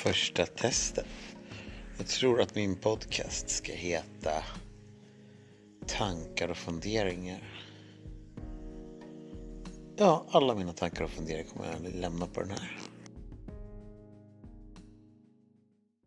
första testet. Jag tror att min podcast ska heta Tankar och funderingar. Ja, alla mina tankar och funderingar kommer jag lämna på den här.